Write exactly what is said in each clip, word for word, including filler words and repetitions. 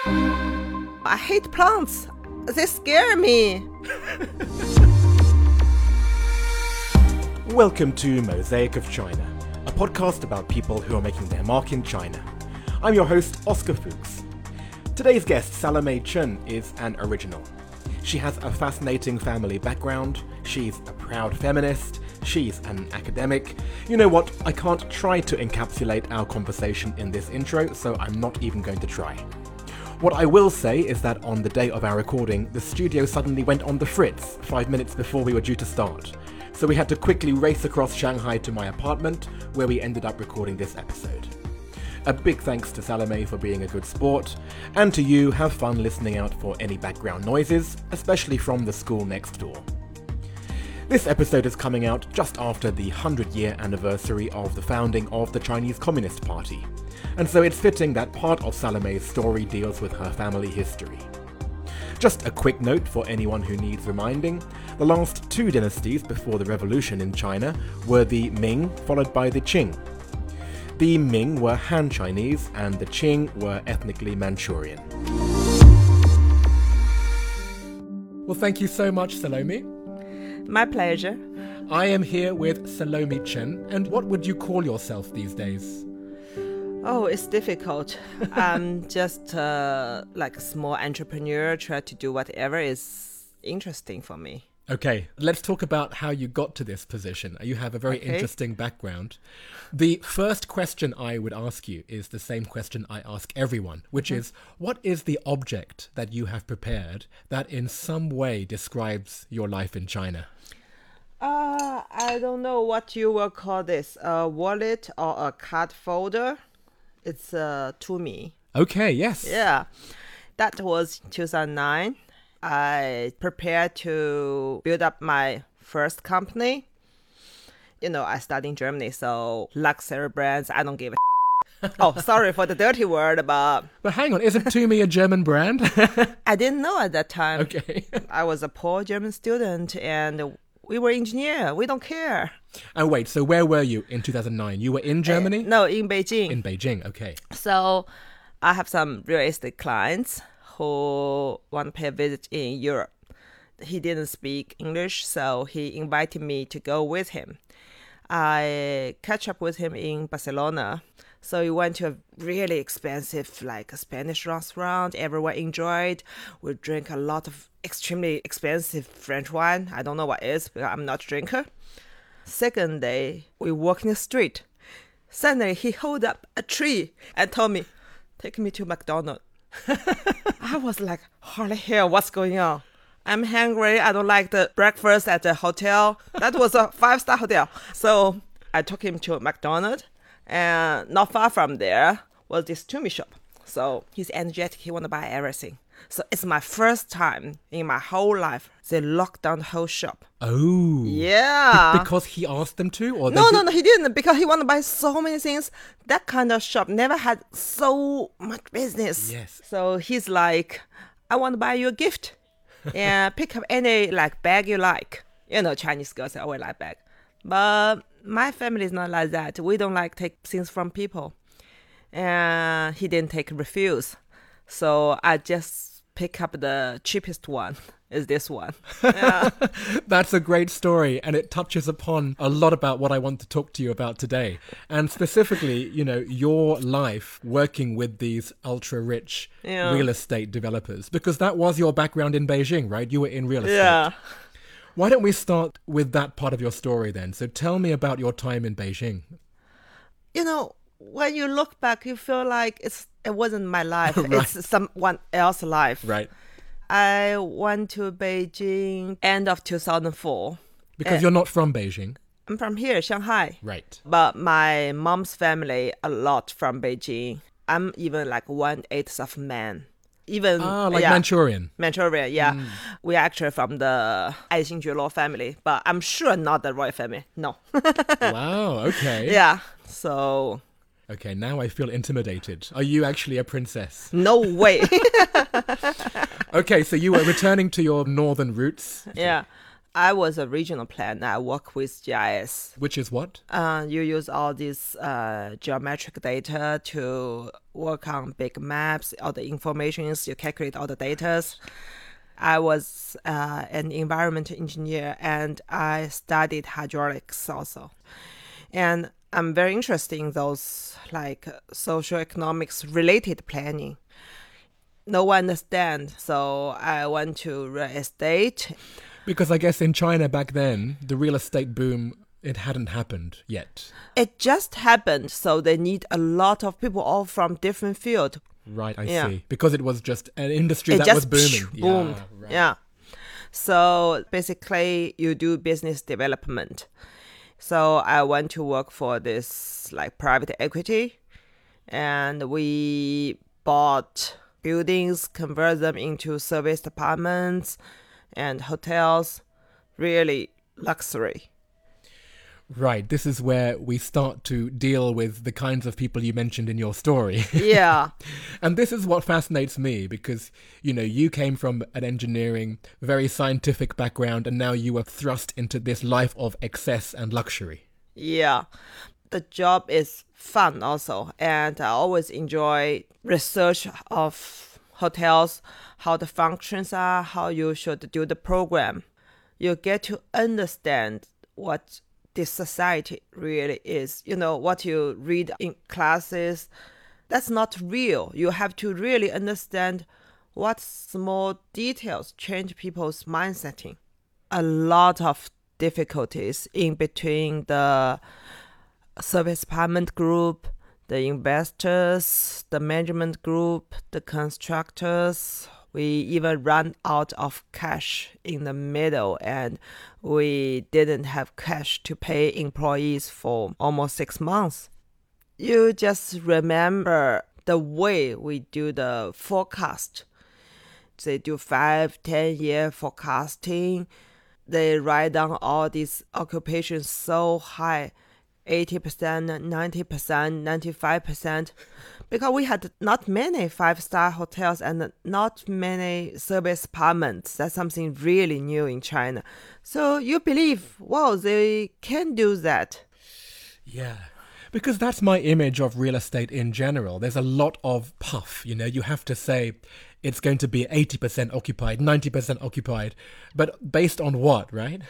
I hate plants. They scare me. Welcome to Mosaic of China, a podcast about people who are making their mark in China. I'm your host, Oscar Fuchs. Today's guest, Salome Chen, is an original. She has a fascinating family background, she's a proud feminist, she's an academic. You know what, I can't try to encapsulate our conversation in this intro, so I'm not even going to try. What I will say is that on the day of our recording, the studio suddenly went on the fritz five minutes before we were due to start. So we had to quickly race across Shanghai to my apartment, where we ended up recording this episode. A big thanks to Salome for being a good sport, and to you, have fun listening out for any background noises, especially from the school next door. This episode is coming out just after the hundred-year anniversary of the founding of the Chinese Communist Party, and so it's fitting that part of Salome's story deals with her family history. Just a quick note for anyone who needs reminding, the last two dynasties before the revolution in China were the Ming, followed by the Qing. The Ming were Han Chinese and the Qing were ethnically Manchurian. Well, thank you so much, Salome. My pleasure. I am here with Salome Chen, and what would you call yourself these days? Oh, it's difficult. I'm just uh, like a small entrepreneur, try to do whatever is interesting for me. Okay, let's talk about how you got to this position. You have a very Okay. interesting background. The first question I would ask you is the same question I ask everyone, which Mm-hmm. is, what is the object that you have prepared that in some way describes your life in China? Uh, I don't know what you will call this, a wallet or a card folder. It's uh, to me. Okay, yes. Yeah, that was two thousand nine. I prepared to build up my first company. You know, I studied in Germany, so luxury brands, I don't give a Oh, sorry for the dirty word, but But hang on, isn't Tumi a German brand? I didn't know at that time. Okay. I was a poor German student and we were engineer. We don't care. Oh, wait, so where were you in two thousand nine? You were in Germany? No, in Beijing. In Beijing, okay. So I have some real estate clients who want to pay a visit in Europe. He didn't speak English, so he invited me to go with him. I catch up with him in Barcelona. So we went to a really expensive, like a Spanish restaurant. Everyone enjoyed. We drank a lot of extremely expensive French wine. I don't know what it is because I'm not a drinker. Second day, we walk in the street. Suddenly, he held up a tree and told me, "Take me to McDonald's." I was like, holy hell, what's going on? I'm hungry. I don't like the breakfast at the hotel. That was a five-star hotel. So I took him to McDonald's. And not far from there was this Tumi shop. So he's energetic. He want to buy everything. So it's my first time in my whole life they locked down the whole shop. Oh. Yeah. Because he asked them to? Or they No, did- no, no, he didn't because he want to buy so many things. That kind of shop never had so much business. Yes. So he's like, I want to buy you a gift. And pick up any like bag you like. You know, Chinese girls always like bag. But my family is not like that. We don't like take things from people. And he didn't take refuse. So I just pick up the cheapest one. Is this one. Yeah. That's a great story, and it touches upon a lot about what I want to talk to you about today. And specifically, you know, your life working with these ultra-rich Yeah. real estate developers, because that was your background in Beijing, right? You were in real estate. Yeah. Why don't we start with that part of your story then? So tell me about your time in Beijing. You know, when you look back, you feel like it's it wasn't my life. Right. It's someone else's life. Right. I went to Beijing end of two thousand four. Because Eh. you're not from Beijing. I'm from here, Shanghai. Right. But my mom's family, a lot from Beijing. I'm even like one-eighth of man. Even, Ah, like yeah, Manchurian. Manchuria, yeah. We're actually from the Aixinjuo family, but I'm sure not the royal family. No. Wow, okay. Yeah. So, Okay, now I feel intimidated. Are you actually a princess? no way. Okay, so you were returning to your northern roots. Yeah. I was a regional planner. I work with G I S. Which is what? Uh, you use all this uh, geometric data to work on big maps, all the informations, you calculate all the data. I was uh, an environmental engineer and I studied hydraulics also. And I'm very interested in those like socioeconomics related planning. No one understands, so I went to real estate. Because I guess in China back then, the real estate boom, it hadn't happened yet. It just happened, so they need a lot of people all from different fields. Right, I Yeah. see. Because it was just an industry It that just was booming. boomed. Yeah, right. Yeah. So basically, you do business development. So I went to work for this like private equity, and we bought buildings, convert them into service apartments and hotels. Really luxury. Right, this is where we start to deal with the kinds of people you mentioned in your story. Yeah. And this is what fascinates me because, you know, you came from an engineering, very scientific background, and now you were thrust into this life of excess and luxury. Yeah. The job is fun also, and I always enjoy research of hotels, how the functions are, how you should do the program. You get to understand what this society really is. You know, what you read in classes, that's not real. You have to really understand what small details change people's mindsetting. A lot of difficulties in between the service apartment group, the investors, the management group, the constructors. We even ran out of cash in the middle, and we didn't have cash to pay employees for almost six months. You just remember the way we do the forecast. They do five, ten year forecasting. They write down all these occupations so high, eighty percent, ninety percent, ninety-five percent. Because we had not many five-star hotels and not many service apartments. That's something really new in China. So you believe, wow, they can do that. Yeah. Because that's my image of real estate in general. There's a lot of puff, you know, you have to say it's going to be eighty percent occupied, ninety percent occupied. But based on what, right?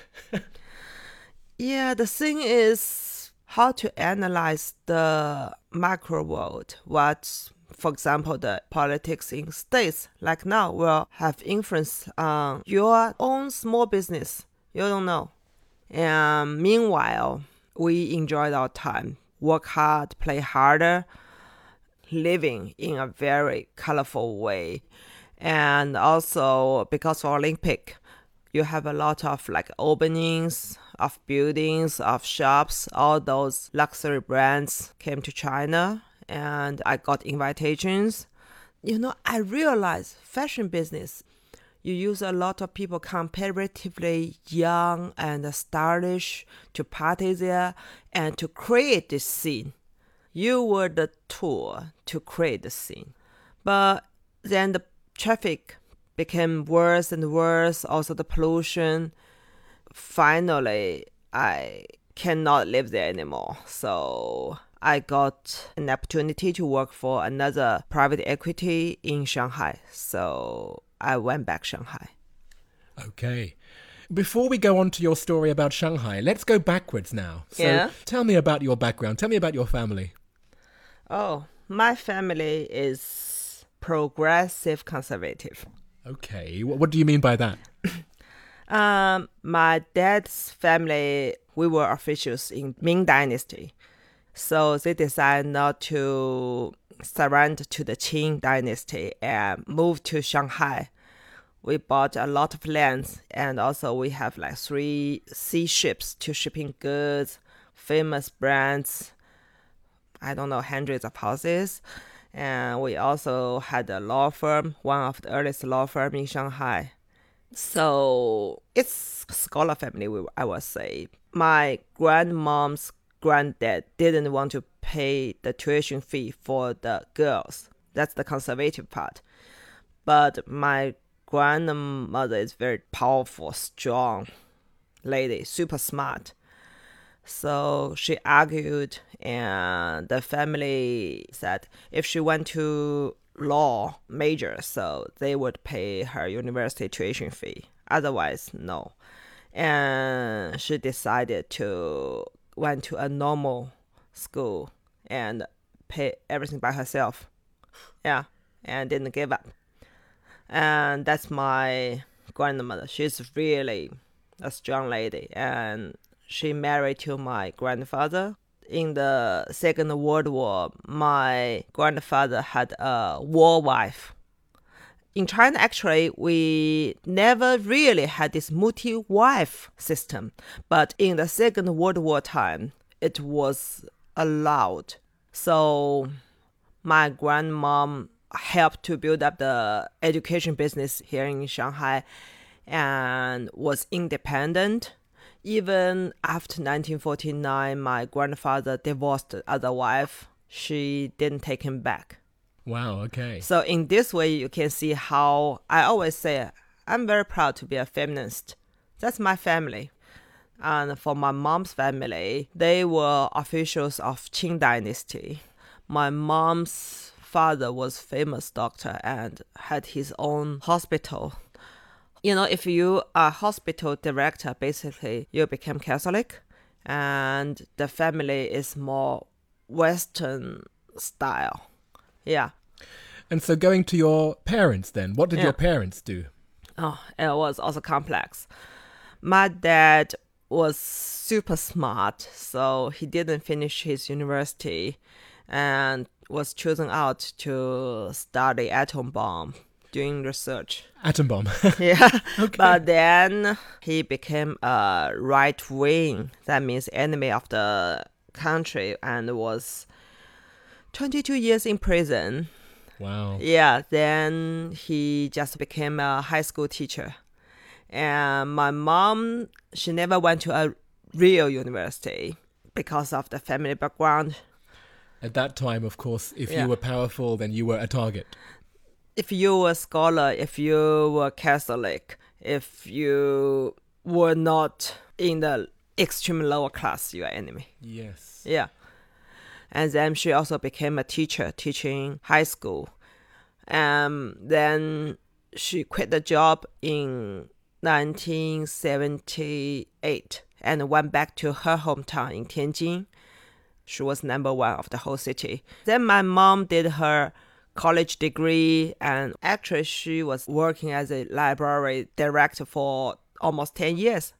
Yeah, the thing is how to analyze the macro world. What, for example, the politics in states like now will have influence on your own small business. You don't know. And meanwhile, we enjoyed our time, work hard, play harder, living in a very colorful way. And also because of Olympic, you have a lot of like openings of buildings, of shops. All those luxury brands came to China and I got invitations. You know, I realized fashion business, you use a lot of people comparatively young and stylish to party there and to create this scene. You were the tool to create the scene. But then the traffic became worse and worse, also the pollution. Finally, I cannot live there anymore. So I got an opportunity to work for another private equity in Shanghai. So I went back to Shanghai. Okay. Before we go on to your story about Shanghai, let's go backwards now. So Yeah. Tell me about your background. Tell me about your family. Oh, my family is progressive conservative. Okay. What, what do you mean by that? Um, my dad's family, we were officials in Ming Dynasty. So they decided not to surrender to the Qing Dynasty and move to Shanghai. We bought a lot of lands, and also we have like three sea ships to shipping goods, famous brands, I don't know, hundreds of houses. And we also had a law firm, one of the earliest law firm in Shanghai. So it's a scholar family, I would say. My grandmom's granddad didn't want to pay the tuition fee for the girls. That's the conservative part. But my grandmother is very powerful, strong. lady, super smart. So she argued, and the family said if she went to law major, so they would pay her university tuition fee. Otherwise, no. And she decided to went to a normal school and pay everything by herself. Yeah, and didn't give up. And that's my grandmother. She's really a strong lady, and she married to my grandfather. In the Second World War, my grandfather had a war wife. In China, actually, we never really had this multi-wife system. But in the Second World War time, it was allowed. So my grandmom helped to build up the education business here in Shanghai and was independent. Even after nineteen forty-nine, my grandfather divorced the other wife. She didn't take him back. Wow, okay. So in this way, you can see how I always say, I'm very proud to be a feminist. That's my family. And for my mom's family, they were officials of Qing Dynasty. My mom's father was a famous doctor and had his own hospital. You know, if you are a hospital director, basically you become Catholic, and the family is more Western style. Yeah. And so going to your parents then, what did Yeah. your parents do? Oh, it was also complex. My dad was super smart, so he didn't finish his university and was chosen out to study atom bomb, doing research. Atom bomb. Yeah. Okay. But then he became a right wing, that means enemy of the country, and was twenty-two years in prison. Wow. Yeah, then he just became a high school teacher. And my mom, she never went to a real university because of the family background. At that time, of course, if Yeah. you were powerful, then you were a target. If you were a scholar, if you were Catholic, if you were not in the extreme lower class, you are enemy. Yes. Yeah. And then she also became a teacher, teaching high school. Um, then she quit the job in nineteen seventy-eight and went back to her hometown in Tianjin. She was number one of the whole city. Then my mom did her college degree, and actually she was working as a library director for almost ten years.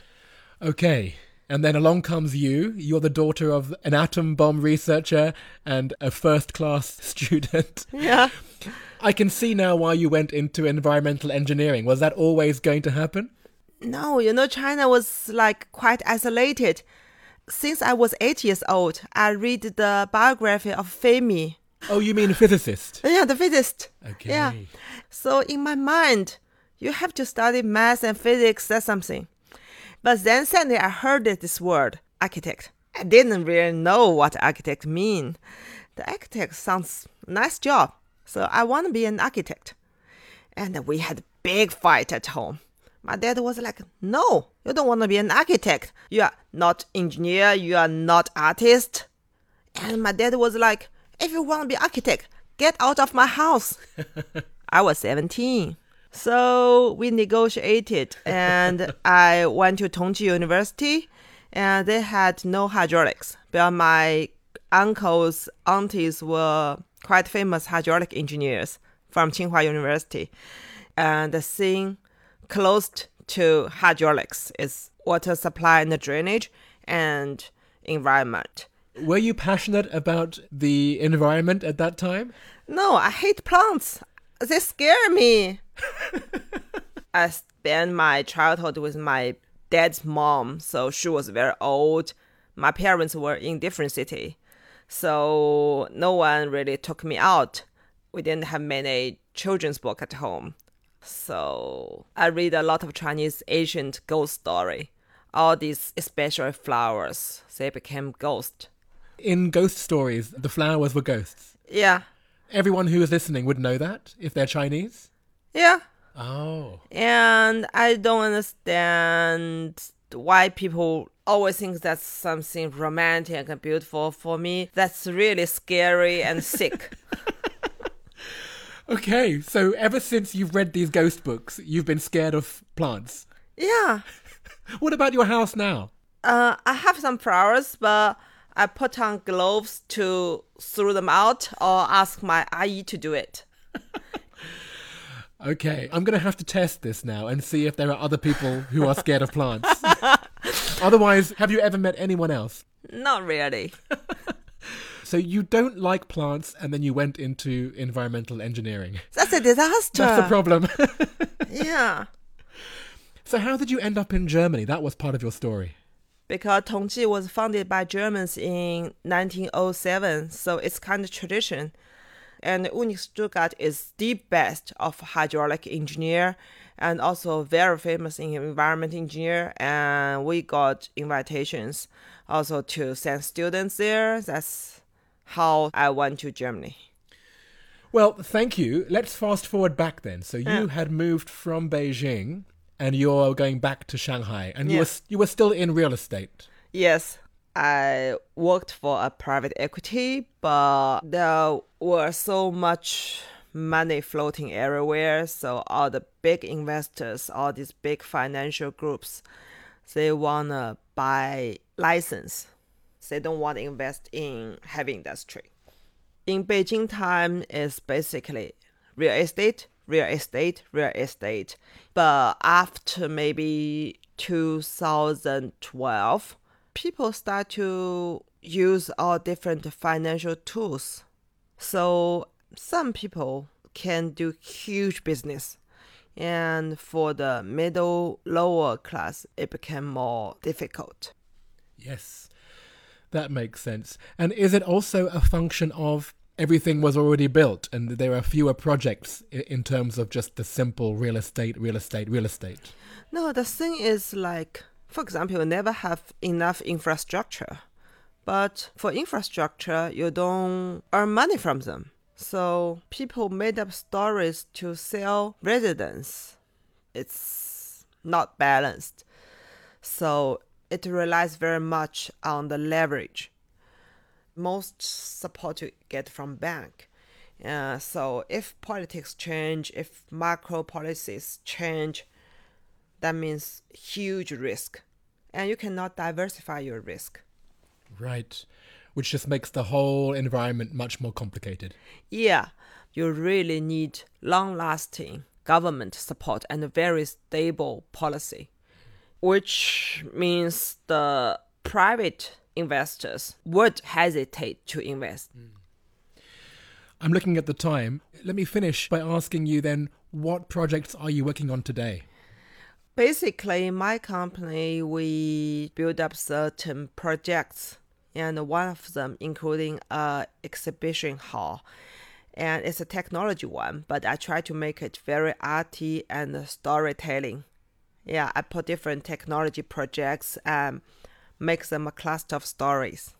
Okay. And then along comes you. You're the daughter of an atom bomb researcher and a first-class student. Yeah. I can see now why you went into environmental engineering. Was that always going to happen? No, you know, China was like quite isolated. Since I was eight years old, I read the biography of Fermi. Oh, you mean a physicist? Yeah, the physicist. Okay. Yeah. So in my mind, you have to study math and physics, that's something. But then suddenly I heard this word, architect. I didn't really know what architect mean. The architect sounds nice job. So I want to be an architect. And we had a big fight at home. My dad was like, no, you don't want to be an architect. You are not engineer. You are not artist. And my dad was like, if you want to be architect, get out of my house. I was seventeen. So we negotiated and I went to Tongji University and they had no hydraulics. But my uncles, aunties were quite famous hydraulic engineers from Tsinghua University. And the thing close to hydraulics is water supply and drainage and environment. Were you passionate about the environment at that time? No, I hate plants. They scare me. I spent my childhood with my dad's mom, so she was very old. My parents were in different city, so no one really took me out. We didn't have many children's book at home. So I read a lot of Chinese ancient ghost story. All these, especially flowers, they became ghosts. In ghost stories, the flowers were ghosts. Yeah, Everyone who is listening would know that, if they're Chinese. yeah. Oh. And I don't understand why people always think that's something romantic and beautiful. For me, that's really scary and sick. Okay, so ever since you've read these ghost books, you've been scared of plants. Yeah. What about your house now? Uh, I have some flowers, but I put on gloves to throw them out or ask my ayi to do it. Okay, I'm going to have to test this now and see if there are other people who are scared of plants. Otherwise, have you ever met anyone else? Not really. So you don't like plants and then you went into environmental engineering. That's a disaster. That's the problem. Yeah. So how did you end up in Germany? That was part of your story. Because Tongji was founded by Germans in nineteen oh seven, so it's kind of tradition. And Uni Stuttgart is the best of hydraulic engineer and also very famous in environment engineer. And we got invitations also to send students there. That's how I went to Germany. Well, thank you. Let's fast forward back then. So you Yeah. had moved from Beijing and you're going back to Shanghai, and you Yeah. were you were still in real estate. Yes, I worked for a private equity, but there were so much money floating everywhere. So all the big investors, all these big financial groups, they want to buy license. They don't want to invest in heavy industry. In Beijing time is basically real estate, real estate, real estate. But after maybe two thousand twelve, people start to use all different financial tools. So some people can do huge business. And for the middle, lower class, it became more difficult. Yes, that makes sense. And is it also a function of everything was already built and there are fewer projects i- in terms of just the simple real estate, real estate, real estate? No, the thing is like, for example, you never have enough infrastructure. But for infrastructure, you don't earn money from them. So people made up stories to sell residence. It's not balanced. So it relies very much on the leverage. Most support you get from bank. Uh, so if politics change, if macro policies change, that means huge risk. And you cannot diversify your risk. Right. Which just makes the whole environment much more complicated. Yeah, you really need long-lasting government support and a very stable policy, which means the private investors would hesitate to invest. I'm looking at the time. Let me finish by asking you then, what projects are you working on today? Basically, in my company, we build up certain projects, and one of them including a exhibition hall. And it's a technology one, but I try to make it very arty and storytelling. Yeah, I put different technology projects and make them a cluster of stories.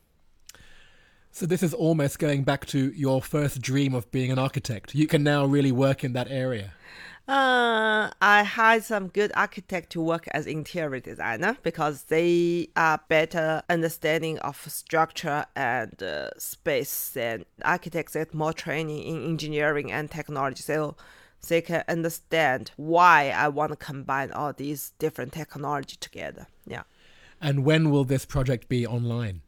So this is almost going back to your first dream of being an architect. You can now really work in that area. Uh, I hired some good architect to work as interior designer because they are better understanding of structure and uh, space, and architects get more training in engineering and technology, so they can understand why I want to combine all these different technology together. Yeah. And when will this project be online?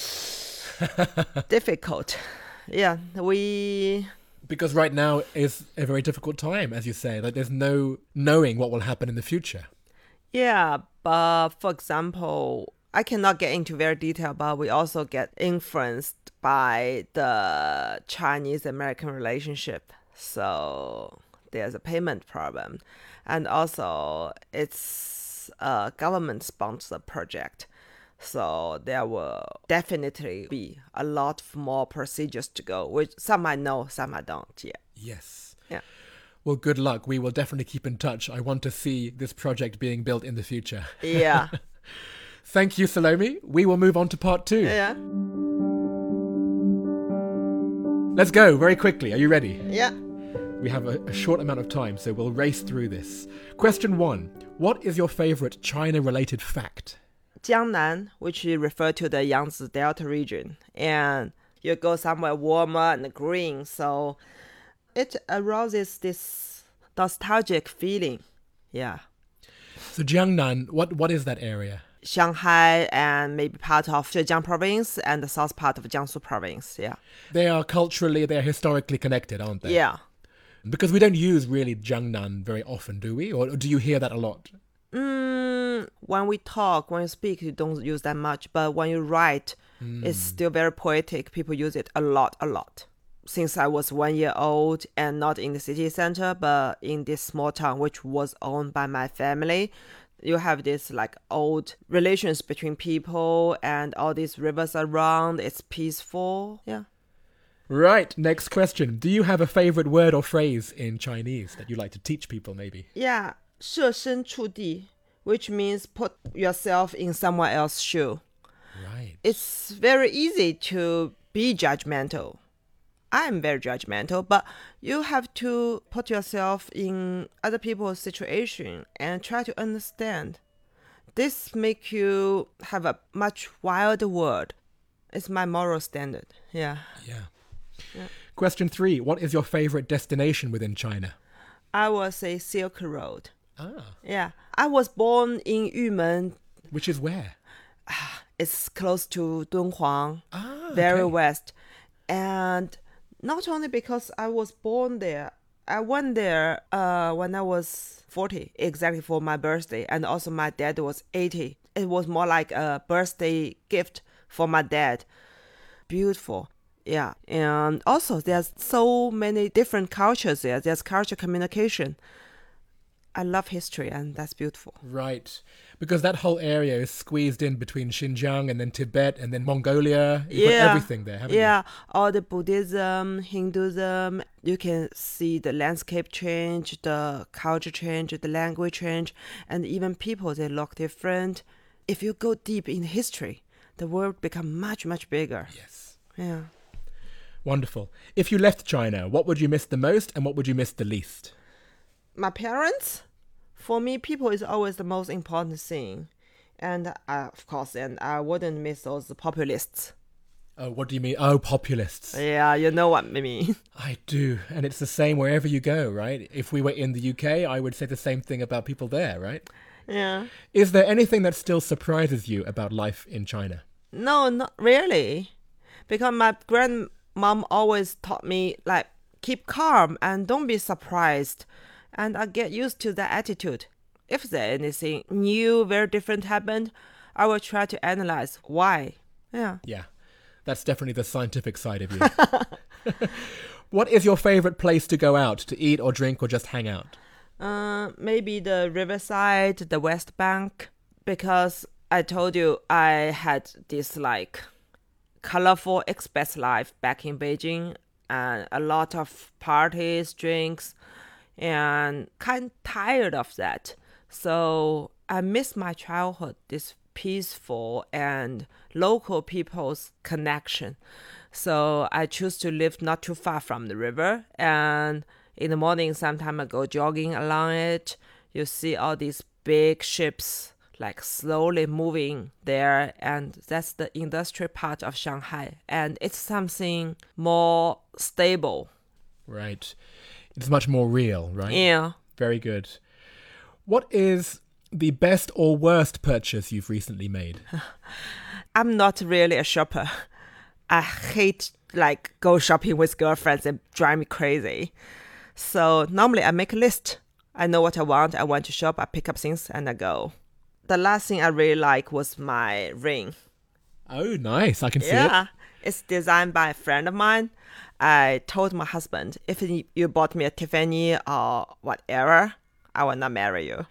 Difficult. Yeah, we... Because right now is a very difficult time, as you say. Like there's no knowing what will happen in the future. Yeah, but for example, I cannot get into very detail, but we also get influenced by the Chinese-American relationship. So there's a payment problem. And also it's a government-sponsored project. So there will definitely be a lot more procedures to go, which some I know, some I don't yet. Yes. Yeah. Well, good luck. We will definitely keep in touch. I want to see this project being built in the future. Yeah. Thank you, Salome. We will move on to part two. Yeah. Let's go very quickly. Are you ready? Yeah. We have a, a short amount of time, so we'll race through this. Question one. What is your favorite China-related fact? Jiangnan, which refer to the Yangtze Delta region, and you go somewhere warmer and green, so it arouses this nostalgic feeling. Yeah. So Jiangnan, what what is that area? Shanghai and maybe part of Zhejiang province and the south part of Jiangsu province. Yeah. They are culturally, they're historically connected, aren't they? Yeah. Because we don't use really Jiangnan very often, do we? Or do you hear that a lot? Mm, when we talk, when you speak, you don't use that much. But when you write, mm. it's still very poetic. People use it a lot, a lot. Since I was one year old and not in the city center, but in this small town, which was owned by my family, you have this like old relations between people and all these rivers around. It's peaceful. Yeah. Right. Next question. Do you have a favorite word or phrase in Chinese that you like to teach people maybe? Yeah. 设身处地, which means put yourself in someone else's shoe. Right. It's very easy to be judgmental. I'm very judgmental, but you have to put yourself in other people's situation and try to understand. This makes you have a much wilder world. It's my moral standard. Yeah. Yeah. yeah. Question three. What is your favorite destination within China? I will say Silk Road. Ah. Yeah. I was born in Yumen. Which is where? It's close to Dunhuang. Ah, very okay. west. And not only because I was born there, I went there uh, when I was forty, exactly for my birthday. And also my dad was eighty. It was more like a birthday gift for my dad. Beautiful. Yeah. And also there's so many different cultures there. There's culture communication. I love history, and that's beautiful. Right. Because that whole area is squeezed in between Xinjiang and then Tibet and then Mongolia. You've yeah. got everything there, haven't yeah. you? Yeah. All the Buddhism, Hinduism, you can see the landscape change, the culture change, the language change, and even people, they look different. If you go deep in history, the world becomes much, much bigger. Yes. Yeah. Wonderful. If you left China, what would you miss the most and what would you miss the least? My parents. For me, people is always the most important thing. And uh, of course, and I wouldn't miss those populists. Oh, what do you mean? Oh, populists. Yeah, you know what I mean. I do. And it's the same wherever you go, right? If we were in the U K, I would say the same thing about people there, right? Yeah. Is there anything that still surprises you about life in China? No, not really. Because my grandmom always taught me, like, keep calm and don't be surprised. And I get used to that attitude. If there's anything new, very different happened, I will try to analyze why. Yeah. Yeah. That's definitely the scientific side of you. What is your favorite place to go out, to eat or drink or just hang out? Uh, maybe the riverside, the West Bank. Because I told you I had this like colorful expat life back in Beijing. And a lot of parties, drinks. And kind of tired of that. So I miss my childhood, this peaceful and local people's connection. So I choose to live not too far from the river. And in the morning, sometime I go jogging along it. You see all these big ships like slowly moving there. And that's the industrial part of Shanghai. And it's something more stable. Right. It's much more real, right? Yeah. Very good. What is the best or worst purchase you've recently made? I'm not really a shopper. I hate like go shopping with girlfriends and drive me crazy. So normally I make a list. I know what I want. I want to shop. I pick up things and I go. The last thing I really like was my ring. Oh, nice. I can see yeah. it. It's designed by a friend of mine. I told my husband, if you bought me a Tiffany or whatever, I will not marry you.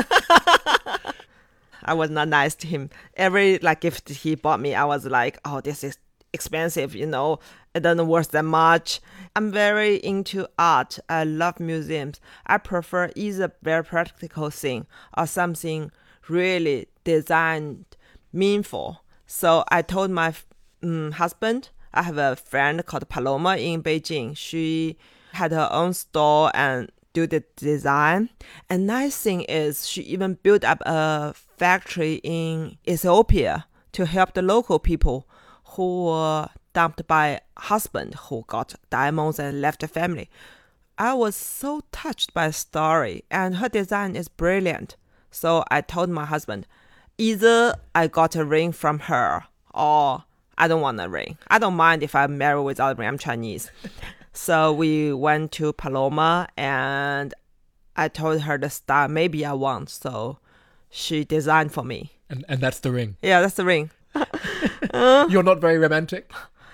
I was not nice to him. Every like gift he bought me, I was like, oh, this is expensive, you know. It doesn't worth that much. I'm very into art. I love museums. I prefer either very practical thing or something really designed, meaningful. So I told my um, husband, I have a friend called Paloma in Beijing. She had her own store and do the design. And nice thing is she even built up a factory in Ethiopia to help the local people who were dumped by husband who got diamonds and left the family. I was so touched by the story, and her design is brilliant. So I told my husband, either I got a ring from her or I don't want a ring. I don't mind if I'm married without a ring. I'm Chinese. So we went to Paloma and I told her the style maybe I want. So she designed for me. And and that's the ring? Yeah, that's the ring. uh, You're not very romantic?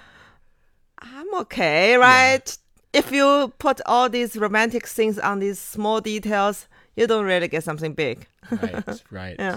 I'm okay, right? Yeah. If you put all these romantic things on these small details, you don't really get something big. Right, right. Yeah.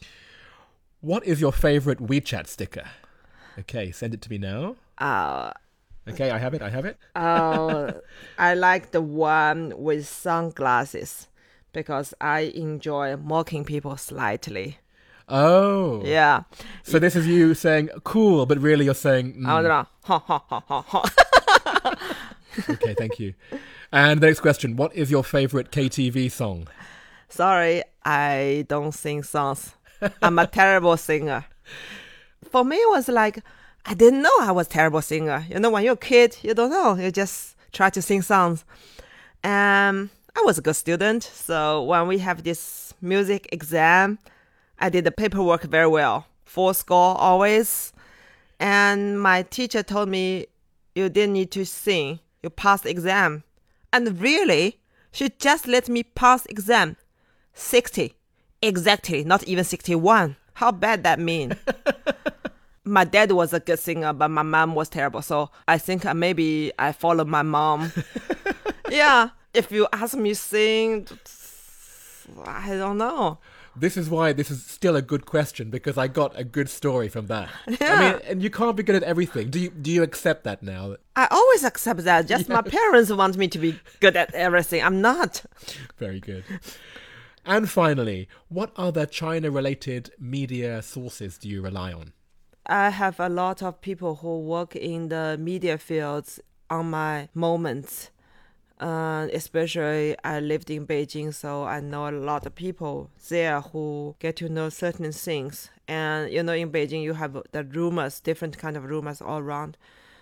What is your favorite WeChat sticker? Okay, send it to me now. Uh, okay, I have it, I have it. uh, I like the one with sunglasses because I enjoy mocking people slightly. Oh. Yeah. So this is you saying cool, but really you're saying... Mm. I don't know. Ha, ha, ha, ha, ha. Okay, thank you. And the next question, what is your favorite K T V song? Sorry, I don't sing songs. I'm a terrible singer. For me, it was like, I didn't know I was a terrible singer. You know, when you're a kid, you don't know. You just try to sing songs. Um, I was a good student. So when we have this music exam, I did the paperwork very well. Full score always. And my teacher told me, you didn't need to sing. You passed the exam. And really, she just let me pass exam. sixty. Exactly. Not even sixty-one. How bad that mean? My dad was a good singer, but my mom was terrible. So I think maybe I followed my mom. Yeah. If you ask me sing, I don't know. This is why this is still a good question, because I got a good story from that. Yeah. I mean, and you can't be good at everything. Do you do you accept that now? I always accept that. Just Yeah. my parents want me to be good at everything. I'm not. Very good. And finally, what other China-related media sources do you rely on? I have a lot of people who work in the media fields on my moments. Uh, especially I lived in Beijing, so I know a lot of people there who get to know certain things. And, you know, in Beijing, you have the rumors, different kind of rumors all around.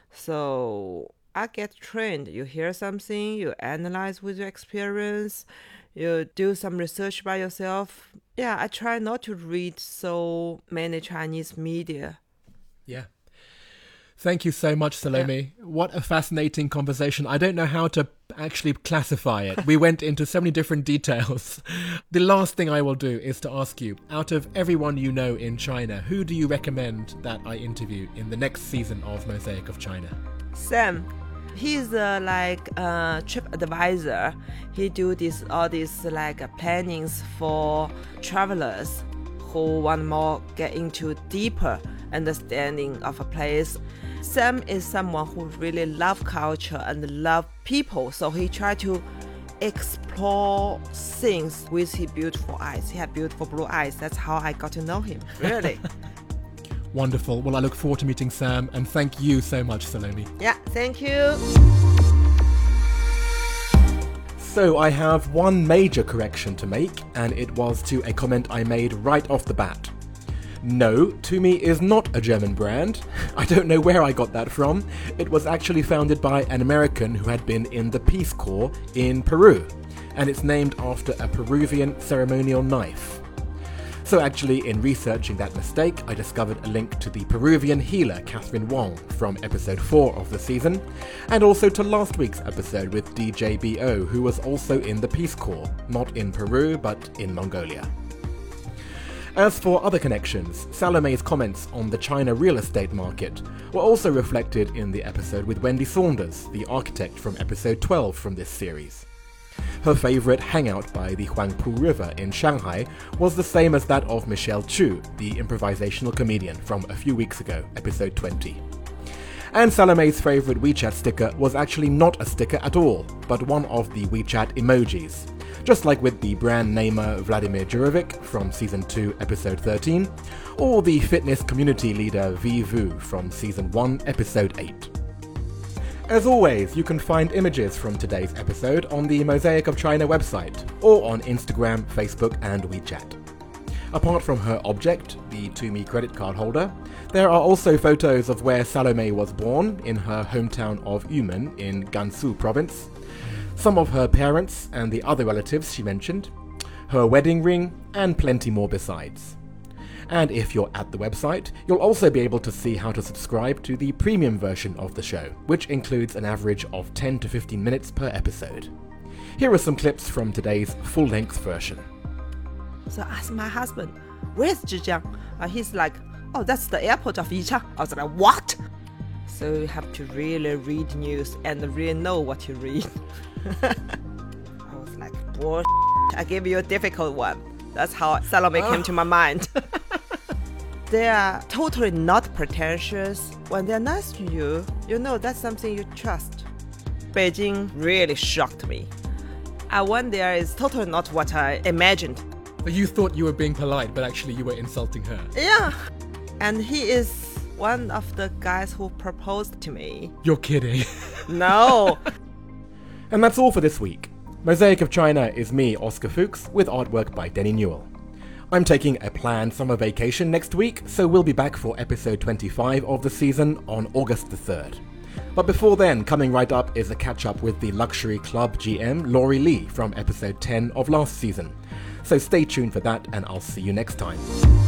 So I get trained. You hear something, you analyze with your experience, you do some research by yourself. Yeah, I try not to read so many Chinese media. Yeah. Thank you so much, Salome. Yeah. What a fascinating conversation. I don't know how to actually classify it. We went into so many different details. The last thing I will do is to ask you, out of everyone you know in China, who do you recommend that I interview in the next season of Mosaic of China? Sam. He's uh, like a trip advisor. He do this all these like uh, plannings for travelers who want more get into deeper understanding of a place. Sam is someone who really love culture and love people, so he try to explore things with his beautiful eyes. He had beautiful blue eyes. That's how I got to know him, really. Wonderful. Well, I look forward to meeting Sam, and thank you so much, Salome. Yeah, thank you. So I have one major correction to make, and it was to a comment I made right off the bat. No, Tumi is not a German brand. I don't know where I got that from. It was actually founded by an American who had been in the Peace Corps in Peru, and it's named after a Peruvian ceremonial knife. So actually, in researching that mistake, I discovered a link to the Peruvian healer Catherine Wong from episode four of the season, and also to last week's episode with D J B O, who was also in the Peace Corps, not in Peru, but in Mongolia. As for other connections, Salome's comments on the China real estate market were also reflected in the episode with Wendy Saunders, the architect from episode twelve from this series. Her favourite hangout by the Huangpu River in Shanghai was the same as that of Michelle Chu, the improvisational comedian from a few weeks ago, episode twenty. And Salome's favourite WeChat sticker was actually not a sticker at all, but one of the WeChat emojis. Just like with the brand namer Vladimir Jurovic from Season two, Episode thirteen, or the fitness community leader V Vu from Season one, Episode eight. As always, you can find images from today's episode on the Mosaic of China website, or on Instagram, Facebook and WeChat. Apart from her object, the Tumi credit card holder, there are also photos of where Salome was born, in her hometown of Yumen in Gansu province, some of her parents and the other relatives she mentioned, her wedding ring, and plenty more besides. And if you're at the website, you'll also be able to see how to subscribe to the premium version of the show, which includes an average of ten to fifteen minutes per episode. Here are some clips from today's full-length version. So I asked my husband, where's Zhejiang? Uh, he's like, oh, that's the airport of Yichang. I was like, what? So you have to really read news and really know what you read. I was like, bullshit. I gave you a difficult one. That's how Salome oh. came to my mind. They are totally not pretentious. When they're nice to you, you know that's something you trust. Beijing really shocked me. I went there is totally not what I imagined. You thought you were being polite, but actually you were insulting her. Yeah. And he is one of the guys who proposed to me. You're kidding. No. And that's all for this week. Mosaic of China is me, Oscar Fuchs, with artwork by Denny Newell. I'm taking a planned summer vacation next week, so we'll be back for episode twenty-five of the season on August the third. But before then, coming right up is a catch-up with the Luxury Club G M Laurie Lee from episode ten of last season. So stay tuned for that, and I'll see you next time.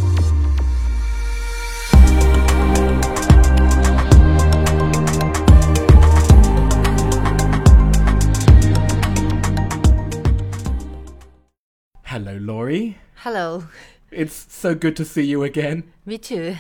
Hello, Laurie. Hello. It's so good to see you again. Me too.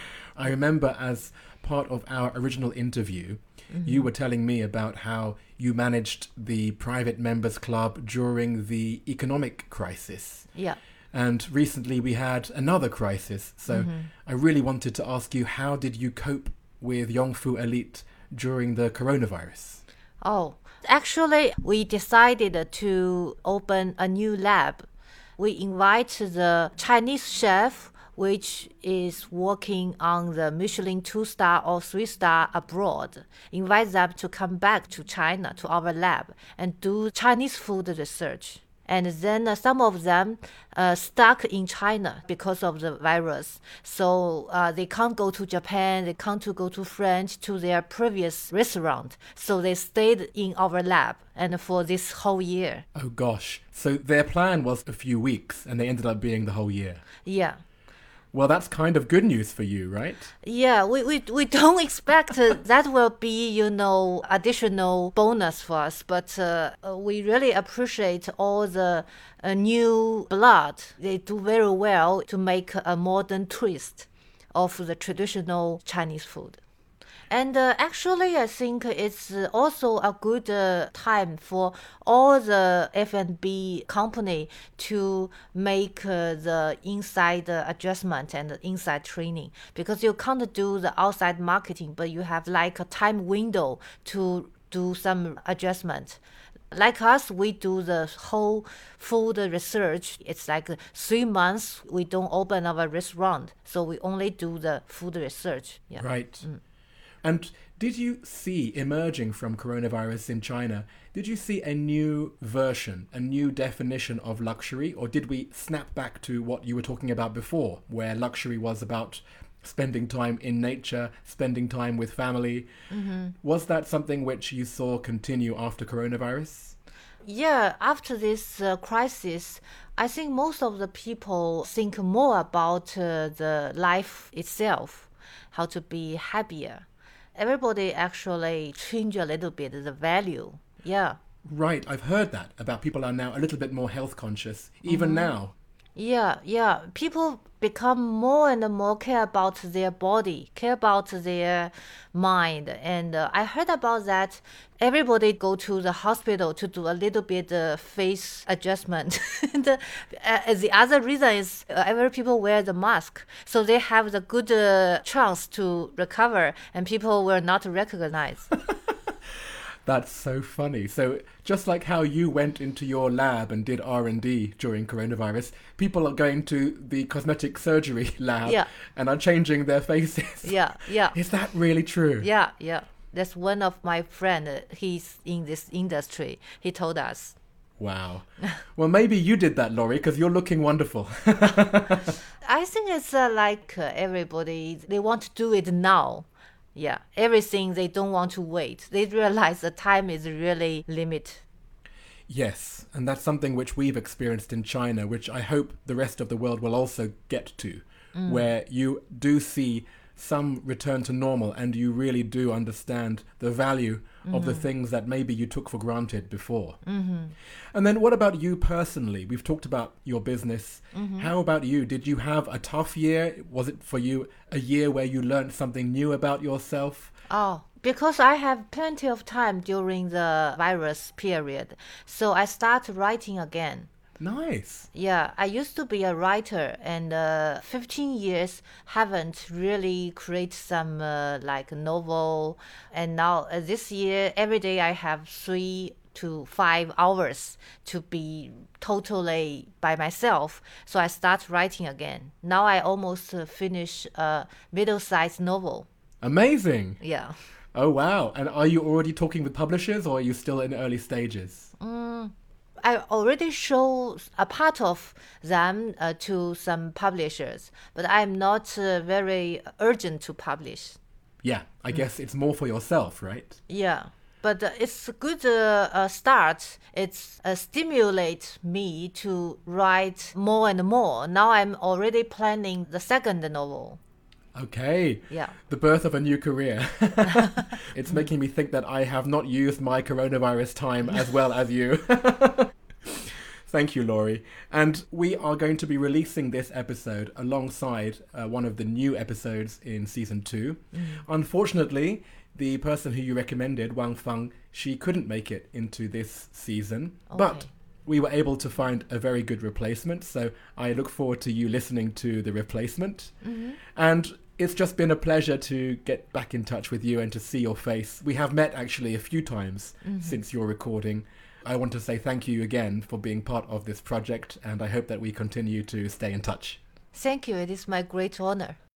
I remember as part of our original interview, mm-hmm. you were telling me about how you managed the private members club during the economic crisis. Yeah. And recently we had another crisis. So mm-hmm. I really wanted to ask you, how did you cope with Yongfu Elite during the coronavirus? Oh, actually, we decided to open a new lab. We invite the Chinese chef, which is working on the Michelin two-star or three-star abroad, invite them to come back to China, to our lab, and do Chinese food research. And then uh, some of them uh, stuck in China because of the virus. So uh, they can't go to Japan, they can't to go to France, to their previous restaurant. So they stayed in our lab and for this whole year. Oh gosh. So their plan was a few weeks and they ended up being the whole year. Yeah. Well, that's kind of good news for you, right? Yeah, we, we, we don't expect uh, that will be, you know, additional bonus for us. But uh, we really appreciate all the uh, new blood. They do very well to make a modern twist of the traditional Chinese food. And uh, actually, I think it's also a good uh, time for all the F and B company to make uh, the inside uh, adjustment and the inside training, because you can't do the outside marketing, but you have like a time window to do some adjustment. Like us, we do the whole food research. It's like three months we don't open our restaurant, so we only do the food research. Yeah. Right. Mm. And did you see, emerging from coronavirus in China, did you see a new version, a new definition of luxury? Or did we snap back to what you were talking about before, where luxury was about spending time in nature, spending time with family? Mm-hmm. Was that something which you saw continue after coronavirus? Yeah, after this uh, crisis, I think most of the people think more about uh, the life itself, how to be happier. Everybody actually change a little bit the value. Yeah. Right. I've heard that about people are now a little bit more health conscious, even mm-hmm. now. Yeah, yeah. People become more and more care about their body, care about their mind. And uh, I heard about that. Everybody go to the hospital to do a little bit uh, face adjustment. and uh, uh, the other reason is uh, every people wear the mask. So they have the good uh, chance to recover and people will not recognize. That's so funny. So just like how you went into your lab and did R and D during coronavirus, people are going to the cosmetic surgery lab yeah. and are changing their faces. Yeah, yeah. Is that really true? Yeah, yeah. That's one of my friend. uh, He's in this industry. He told us. Wow. Well, maybe you did that, Laurie, because you're looking wonderful. I think it's uh, like uh, everybody, they want to do it now. Yeah, everything they don't want to wait. They realize the time is really limited. Yes, and that's something which we've experienced in China, which I hope the rest of the world will also get to, where you do see some return to normal and you really do understand the value of the things that maybe you took for granted before. Mm-hmm. And then what about you personally? We've talked about your business. Mm-hmm. How about you? Did you have a tough year? Was it for you a year where you learned something new about yourself? Oh, because I have plenty of time during the virus period, so I start writing again. Nice. Yeah, I used to be a writer, and uh, fifteen years haven't really created some uh, like novel. And now uh, this year, every day I have three to five hours to be totally by myself. So I start writing again. Now I almost uh, finish a middle-sized novel. Amazing. Yeah. Oh, wow. And are you already talking with publishers or are you still in early stages? Mm. I already show a part of them uh, to some publishers, but I'm not uh, very urgent to publish. Yeah, I guess it's more for yourself, right? Yeah, but uh, it's a good uh, uh, start. It's uh, stimulate me to write more and more. Now I'm already planning the second novel. Okay. Yeah. The birth of a new career. It's making me think that I have not used my coronavirus time as well as you. Thank you, Laurie. And we are going to be releasing this episode alongside uh, one of the new episodes in season two. Mm. Unfortunately, the person who you recommended, Wang Fang, she couldn't make it into this season. Okay. But we were able to find a very good replacement. So I look forward to you listening to the replacement. Mm-hmm. And it's just been a pleasure to get back in touch with you and to see your face. We have met actually a few times mm-hmm. since your recording. I want to say thank you again for being part of this project, and I hope that we continue to stay in touch. Thank you. It is my great honor.